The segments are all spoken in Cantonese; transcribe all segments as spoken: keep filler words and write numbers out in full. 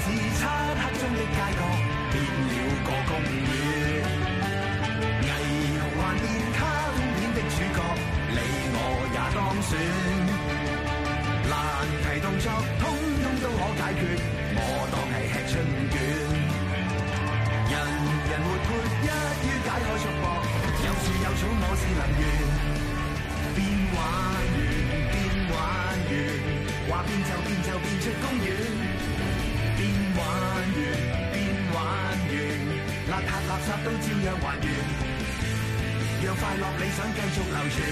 是漆黑中的街角變了個公園，霓虹幻變卡通片的主角，你我也當選。難題動作通通都可解決，我當係吃春卷。人人活潑一於解開束縛，有樹有草我是能圓。變玩完變玩完，話變就變就變出公園。變玩完變玩完，邋遢垃圾都照樣還原，讓快樂理想繼續流傳。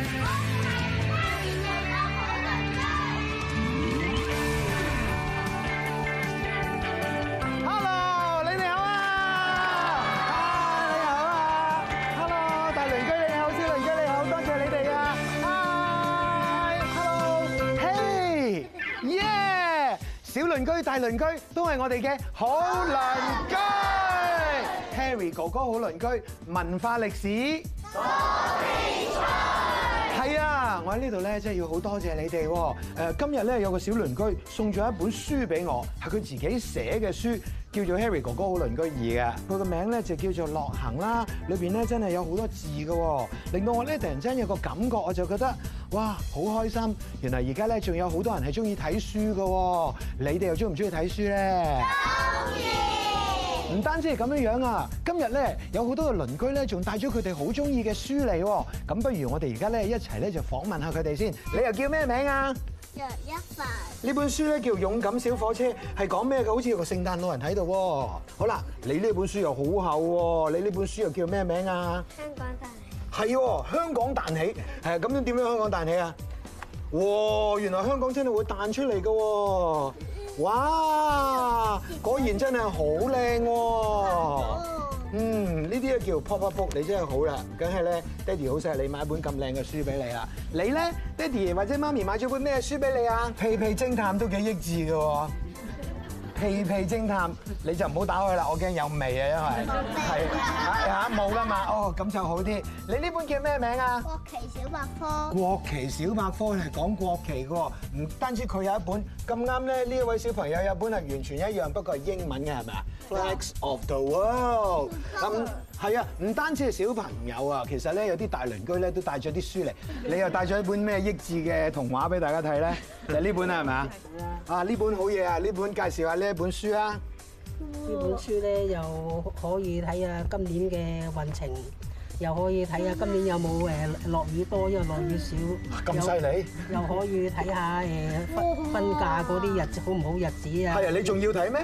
小鄰居、大鄰居都係我哋嘅好鄰居。Harry 哥哥好鄰居，文化歷史多比賽。係啊，我喺呢度咧，真係要好多謝你哋喎。誒，今日咧有個小鄰居送咗一本書俾我，係佢自己寫嘅書，叫做《Harry 哥哥好鄰居二》嘅。佢個名咧就叫做《樂行》啦，裏邊咧真係有好多字嘅，令到我咧突然間有個感覺，我就覺得哇，好開心！原來而家咧仲有好多人係中意睇書嘅，你哋又中唔中意睇書咧？中意。唔單止係咁樣樣啊，今日咧有好多嘅鄰居咧，仲帶咗佢哋好中意嘅書嚟喎。咁不如我哋而家咧一齊咧就訪問下佢哋先。你又叫咩名啊？ 約一凡。 呢本書咧叫《勇敢小火車》，係講咩嘅？好似有個聖誕老人喺度喎。好啦，你呢本書又好厚喎，你呢本書又叫咩名啊？ 香港大。 係喎，香港彈起，係咁樣點樣香港彈起啊？哇！原來香港真係會彈出嚟㗎喎！哇！果然真係好靚喎！嗯，呢啲咧叫 pop up book， 你真係好啦，梗係咧，爹哋好錫你買一本咁靚嘅書俾你啦。你咧，爹哋或者媽咪買咗本咩書俾你啊？屁屁偵探都幾益智㗎喎！屁屁偵探，你就唔好打開啦，我驚有味啊，因為係嚇冇啦嘛。哦，咁就好啲。你呢本叫咩名啊？ 國旗小百科。 國旗小百科係講國旗嘅喎，唔單止佢有一本，咁啱咧呢一位小朋友有本係完全一樣，不過係英文嘅係咪啊 ？Flags of the World。咁係啊，唔單止係小朋友啊，其實咧有啲大鄰居咧都帶咗啲書嚟。你又帶咗一本咩益智嘅童話俾大家睇咧？就係呢本啦，係咪啊？啊！呢本好嘢啊！呢本介紹下呢一本書啊！ 呢本書咧又可以睇下今年嘅運程，又可以睇下今年有冇誒落雨多，因為落雨少。 咁犀利！ 又可以睇下誒分分假嗰啲日子好唔好日子啊！ 係啊！你仲要睇咩？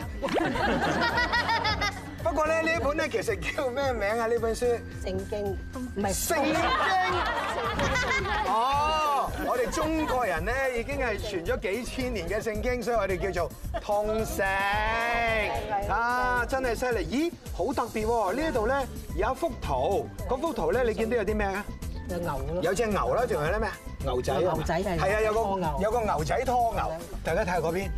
不過咧呢一本咧其實叫咩名啊？呢本書聖經唔係聖經。哦，我哋中國人咧已經係傳咗幾千年嘅聖經，所以我哋叫做通聖啊！真係犀利！咦，好特別喎！呢一度咧有一幅圖，嗰幅圖咧你見到有啲咩啊？ 有牛咯， 有隻牛啦，仲有啲咩啊？牛仔啊！ 牛仔係係啊，有個拖牛有個牛仔拖牛，大家睇下嗰邊。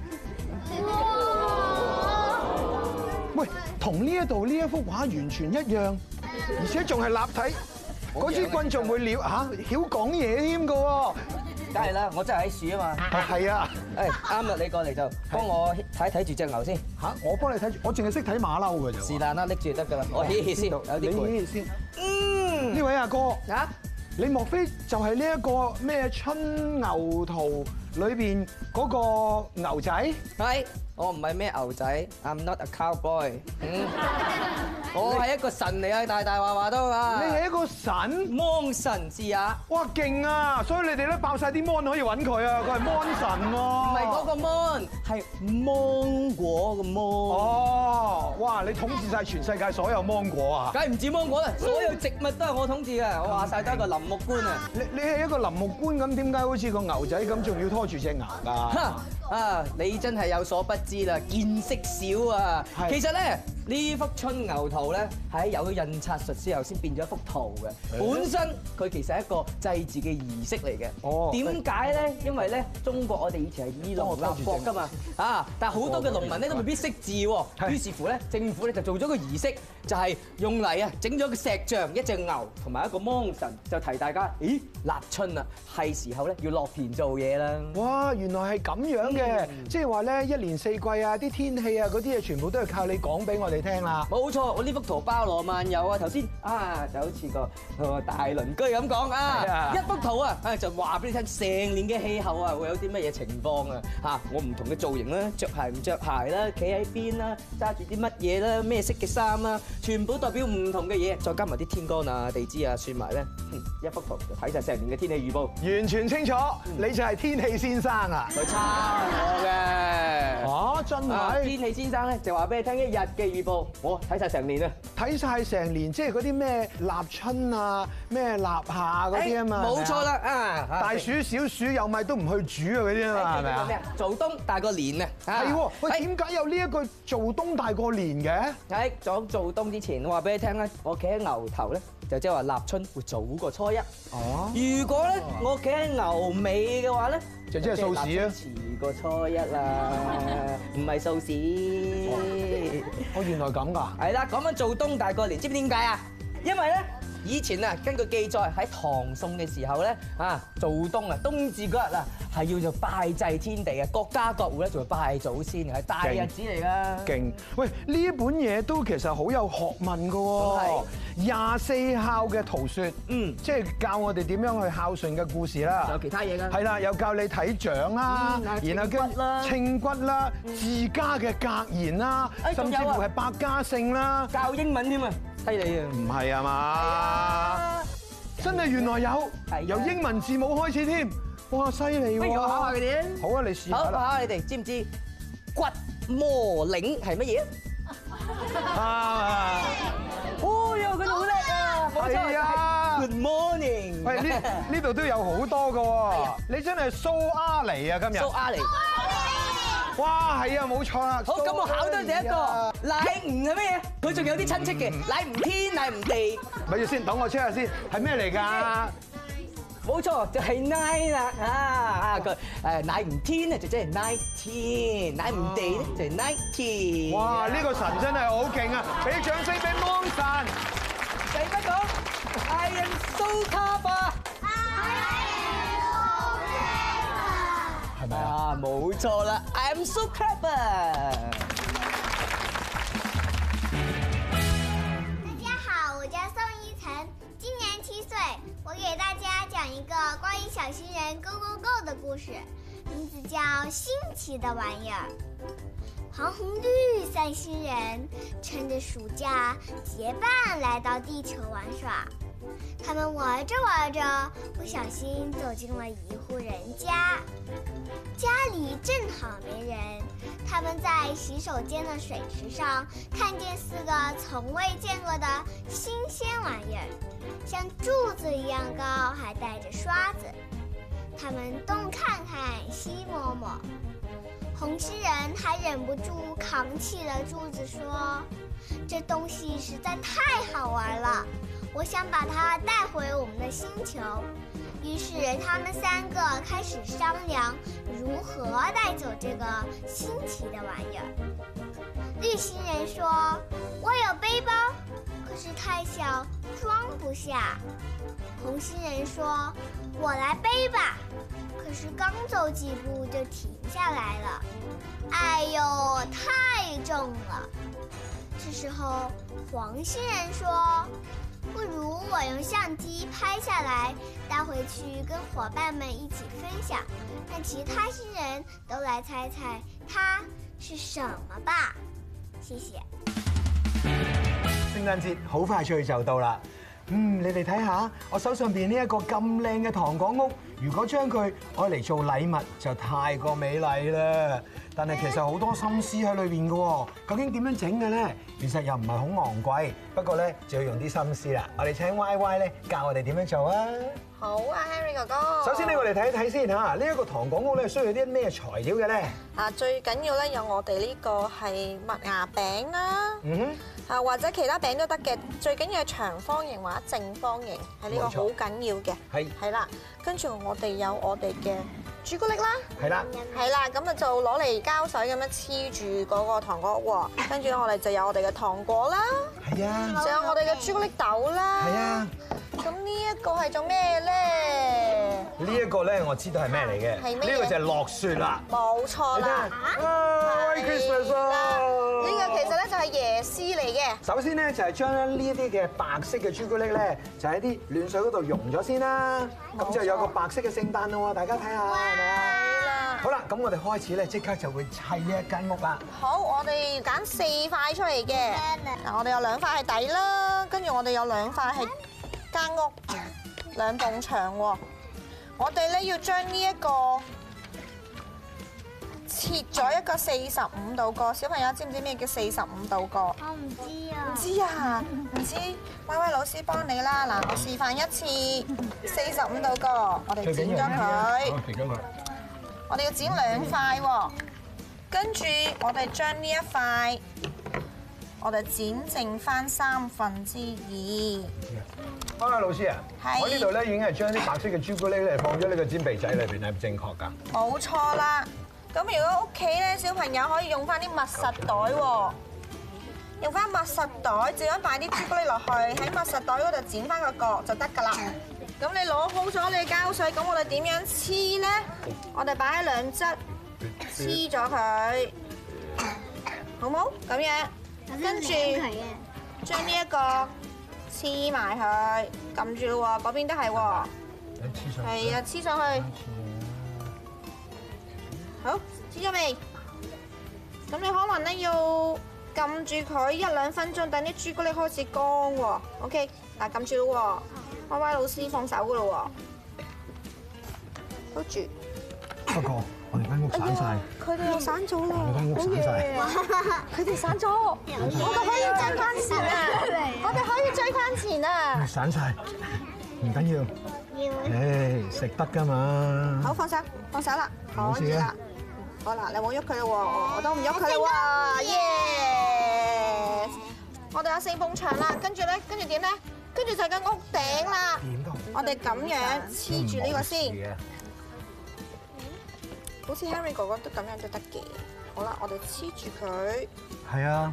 喂，同呢一度呢一幅畫完全一樣，而且仲係立體。嗰支棍仲會撩嚇，曉講嘢添㗎喎。 梗係啦，我真係喺樹啊嘛。 係啊。 誒啱啦，你過嚟就幫我睇睇住隻牛先。 嚇，我幫你睇住，我淨係識睇馬騮㗎啫。 是但啦，拎住就得㗎啦。我嘻嘻先，有啲你攰。 嘻嘻先。嗯。呢位阿哥。 啊？ 你莫非就係呢一個咩春牛圖裏邊嗰個牛仔？ 係，我唔係咩牛仔 ，I'm not a cowboy。嗯，我係一個神嚟啊，大大話話都啊。 你係一個神？ 芒神是也。 哇，勁啊！所以你哋咧爆曬啲 mon 可以揾佢啊，佢係 mon 神喎。 唔係嗰個 mon，係芒果個 mon。 哦，哇！你統治曬全世界所有芒果啊？ 梗係唔止芒果啦，所有植物都係我統治嘅。我話曬都係一個林木官啊。 你你係一個林木官咁，點解好似個牛仔咁，仲要拖住隻牛㗎？ 啊！你真係有所不知啦，見識少啊！其實咧，呢幅春牛圖咧，係有咗印刷術之後先變咗一幅圖嘅。本身佢其實係一個祭祀嘅儀式嚟嘅。哦。點解咧？因為咧，中國我哋以前係以農立國㗎㗎嘛，啊！但係好多嘅農民咧都未必識字喎，於是乎咧政府咧就做咗個儀式，就係用嚟啊整咗個石像、一隻牛同埋一個芒神，就提大家，咦立春啦，係時候咧要落田做嘢啦。 哇！原來係咁樣嘅，即係話咧一年四季啊，啲天氣啊嗰啲嘢全部都係靠你講俾我哋聽啦。 冇錯，我呢幅圖包羅萬有啊！頭先啊就好似個個大鄰居咁講啊，一幅圖啊啊就話俾你聽，成年嘅氣候啊會有啲乜嘢情況啊嚇！我唔同嘅造型啦，着鞋唔着鞋啦，企喺邊啦，揸住啲乜嘢啦，咩色嘅衫啦，全部代表唔同嘅嘢，再加埋啲天干啊、地支啊算埋咧，一幅圖就睇晒成年嘅天氣預報， 完全清楚，你就係天氣先生啊！ 佢抄我嘅。 啊，真係！ 天氣先生咧就話俾你聽一日嘅預報，我睇晒成年啊！ 睇晒成年，即係嗰啲咩立春啊、咩立夏嗰啲啊嘛。 冇錯啦啊！ 大暑小暑有米都唔去煮啊嗰啲啊嘛，係咪啊？ 咩啊？做冬大過年啊！ 係喎，喂，點解有呢一句做冬大過年嘅？ 喺講做冬之前，我話俾你聽咧，我企喺牛頭咧，就即係話立春會早過初一。哦。如果咧我企喺牛尾嘅話咧， 就即係掃屎啊！ 遲過初一啦，唔係掃屎。 哦，原來咁㗎。 係啦，講緊做冬大過年，知唔知點解啊？因為咧。以前啊，根據記載喺唐宋嘅時候咧，啊做冬啊，冬至嗰日啊，係要做拜祭天地嘅，各家各戶咧就會拜祖先嘅，係大日子嚟㗎。勁！喂，呢一本嘢都其實好有學問㗎喎。廿四孝嘅圖說，嗯，即係教我哋點樣去孝順嘅故事啦。有其他嘢㗎。係啦，又教你睇掌啦，然後跟稱骨啦、自家嘅格言啦，甚至乎係百家姓啦，教英文添啊！犀利啊！唔係啊嘛，真係原來有，由英文字母開始添，哇犀利喎！不如我考下佢哋啊！好啊，你試下啦。考下你哋，知唔知骨摩鈴係乜嘢啊？啊！哦喲，佢哋好叻啊！係啊 ！Good morning。喂，呢呢度都有好多㗎喎，你真係蘇阿尼啊！今日蘇阿尼。哇，係啊，冇錯啦。好，咁我考多你一個，乃吾係乜嘢？佢仲有啲親戚嘅，乃吾天，乃吾地。咪住先，等我 check 下先，係咩嚟㗎？冇錯，就係 nine 啦啊啊！佢誒乃吾天咧就即係 nineteen，乃吾地咧就係 nineteen。哇！呢個神真係好勁啊！俾掌聲俾芒神。使乜講 ？I am so clever。係咪啊？冇錯啦 ，I am so clever。 大家好，我叫宋依晨，今年七歲，我給大家講一個關於小新人 Go Go Go 的故事，名字叫《新奇的玩意兒》。黃紅綠三星人趁着暑假結伴來到地球玩耍。他們玩着玩着，不小心走進了一戶人家。家裡正好沒人，他們在洗手間的水池上看見四個從未見過的新鮮玩意兒，像柱子一樣高，還帶着刷子。他們東看看，西摸摸。紅星人還忍不住扛起了柱子，說：“這東西實在太好玩了，我想把它帶回我們的星球。”於是他們三個開始商量如何帶走這個新奇的玩意兒。綠星人說：“我有背包，可是太小，裝不下。”紅星人說：“我來背吧，可是剛走幾步就停下來了。哎呦，太重了。”這時候黃星人說：“不如我用相機拍下來，帶回去跟夥伴們一起分享，讓其他新人都來猜猜它是什麼吧。”謝謝。 聖誕節好快脆就到啦。嗯，你哋睇下，我手上邊呢一個咁靚嘅糖果屋，如果將佢愛嚟做禮物，就太過美麗啦。但係其實好多心思喺裏邊嘅喎，究竟點樣整嘅咧？其實又唔係好昂貴，不過咧就要用啲心思啦。我哋請 Y Y 咧教我哋點樣做啊！ 好啊 ，Henry 哥哥。首先咧，我哋睇一睇先嚇，呢一個糖果屋咧需要啲咩材料嘅咧？ 啊，最緊要咧有我哋呢個係麥芽餅啦。嗯哼。啊，或者其他餅都得嘅，最緊要係長方形或者正方形，係呢個好緊要嘅。係。係啦，跟住我哋有我哋嘅朱古力啦， 係啦， 係啦，咁啊就攞嚟膠水咁樣黐住嗰個糖果喎，跟住我哋就有我哋嘅糖果啦， 係啊， 仲有我哋嘅朱古力豆啦， 係啊。 咁呢一個係做咩咧？ 呢一個咧，我知道係咩嚟嘅。 係咩嘢呢個就係落雪啦。 冇錯啦。 Merry Christmas 啊！ 呢個其實咧就係椰絲嚟嘅。 首先咧就係將咧呢一啲嘅白色嘅朱古力咧，就喺啲暖水嗰度溶咗先啦。咁就有個白色嘅聖誕咯喎，大家睇下係咪啊？好啦，咁我哋開始咧，即刻就會砌呢一間屋啦。 好，我哋揀四塊出嚟嘅。嗱，我哋有兩塊係底啦，跟住我哋有兩塊係間屋，兩埲牆喎。我哋咧要將呢一個切咗一個四十五度角，小朋友知唔知咩叫四十五度角？ 我唔知啊。 唔知啊？唔知，威威老師幫你啦。嗱，我示範一次，四十五度角，我哋剪咗佢。 剪咗佢。 我哋要剪兩塊喎，跟住我哋將呢一塊，我哋剪剩翻三分之二。 方家老師啊， 係我呢度咧已經係將啲白色嘅朱古力咧放咗呢個煎鼻仔裏邊，係唔正確㗎？ 冇錯啦。咁如果屋企咧小朋友可以用翻啲密實袋喎，用翻密實袋，只咁擺啲朱古力落去，喺密實袋嗰度剪翻個角就得㗎啦。咁你攞好咗你膠水，咁我哋點樣黐咧？我哋擺喺兩側黐咗佢，好冇？咁樣，跟住將呢一個黐埋佢，撳住咯喎，嗰邊都係喎。係啊，黐上去。好，黐咗未？咁你可能咧要撳住佢一兩分鐘，等啲朱古力開始乾喎。OK， 嗱撳住咯喎。威威老師放手噶咯喎，hold住。 不過我哋間屋散晒， 佢哋又散咗啦， 我間屋散晒， 佢哋散咗，我哋可以追翻前啊！我哋可以追翻前啊！ 散晒，唔緊要。 要。 誒，食得㗎嘛。 好，放手，放手啦， 冇事嘅可以啦。好啦，你冇喐佢啦喎，我都唔喐佢啦喎，耶！我哋有四埲牆啦，跟住咧，跟住點咧？跟住就係間屋頂啦。我哋咁樣黐住呢個先，好似 Harry 哥哥都咁樣都得嘅。好啦，我哋黐住佢。 係啊。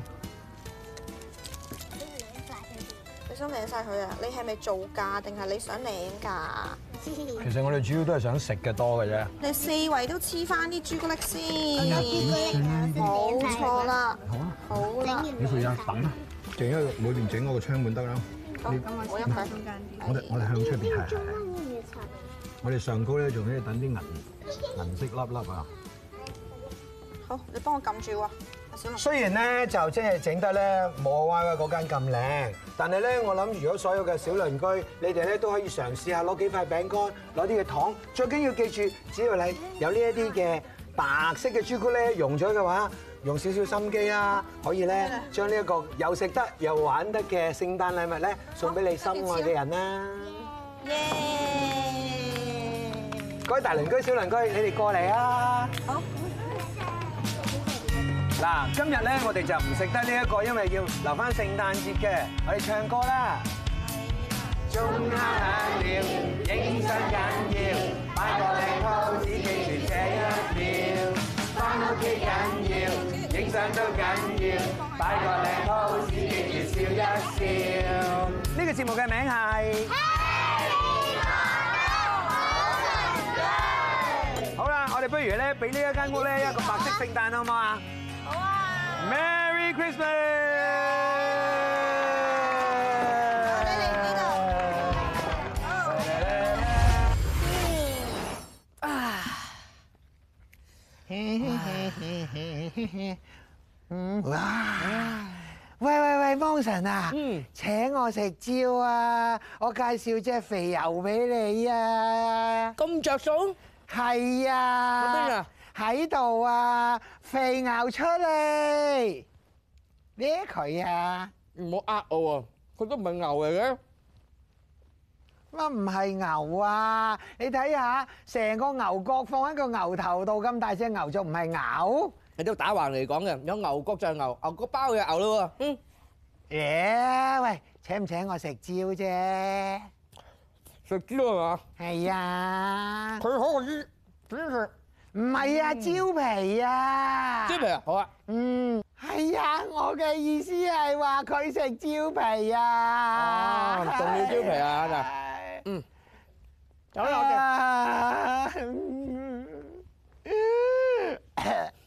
你想領晒佢啊？你係咪做㗎定係你想領㗎？ 其實我哋主要都係想食嘅多嘅啫。 你四圍都黐翻啲朱古力先，冇錯啦。 好啊。 好啦。 你負責等啦，淨係裏邊整嗰個窗門得啦。 好，咁我一佢中間啲。 我哋我哋向出邊係係係。我哋上高咧仲可以等啲銀銀色粒粒啊。 好，你幫我撳住喎，阿小龍。 雖然咧就即係整得咧冇我歪歪嗰間咁靚，但係咧我諗如果所有嘅小鄰居，你哋咧都可以嘗試下攞幾塊餅乾，攞啲嘅糖，最緊要記住，只要你有呢一啲嘅白色嘅朱古力溶咗嘅話，用少少心機啦，可以咧將呢一個又食得又玩得嘅聖誕禮物咧送俾你心愛嘅人啦！ 耶！ 各位大鄰居、小鄰居，你哋過嚟啊！ 好。 嗱，今日咧我哋就唔食得呢一個，因為要留翻聖誕節嘅，我哋唱歌啦。鐘敲響了，影相緊要，擺個靚 pose 記住這一秒，返屋企緊要，影相都緊要，擺個靚 pose 記住笑一笑。呢個節目嘅名係。好啦，我哋不如咧俾呢一間屋咧一個白色聖誕好唔好啊？好啊 ！Merry Christmas！ 我哋嚟呢度。哇！喂喂喂，芒神啊，請我食蕉啊！我介紹隻肥牛俾你啊！ 咁着數？ 係啊！ 喺邊啊？ 喺度啊！肥牛出嚟，咩佢啊？ 唔好呃我喎，佢都唔係牛嚟嘅。 乜唔係牛啊？你睇下，成個牛角放喺個牛頭度，咁大隻牛仲唔係牛？ 你都打橫嚟講嘅，有牛角就係牛，牛角包就係牛咯喎。嗯。 耶！喂，請唔請我食蕉啫？ 食蕉係嘛？ 係啊。 佢可以唔係啊，蕉皮啊。 蕉皮啊，好啊。 嗯，係啊，我嘅意思係話佢食蕉皮啊。 哦，仲要蕉皮啊嗱。嗯。有啦，我哋。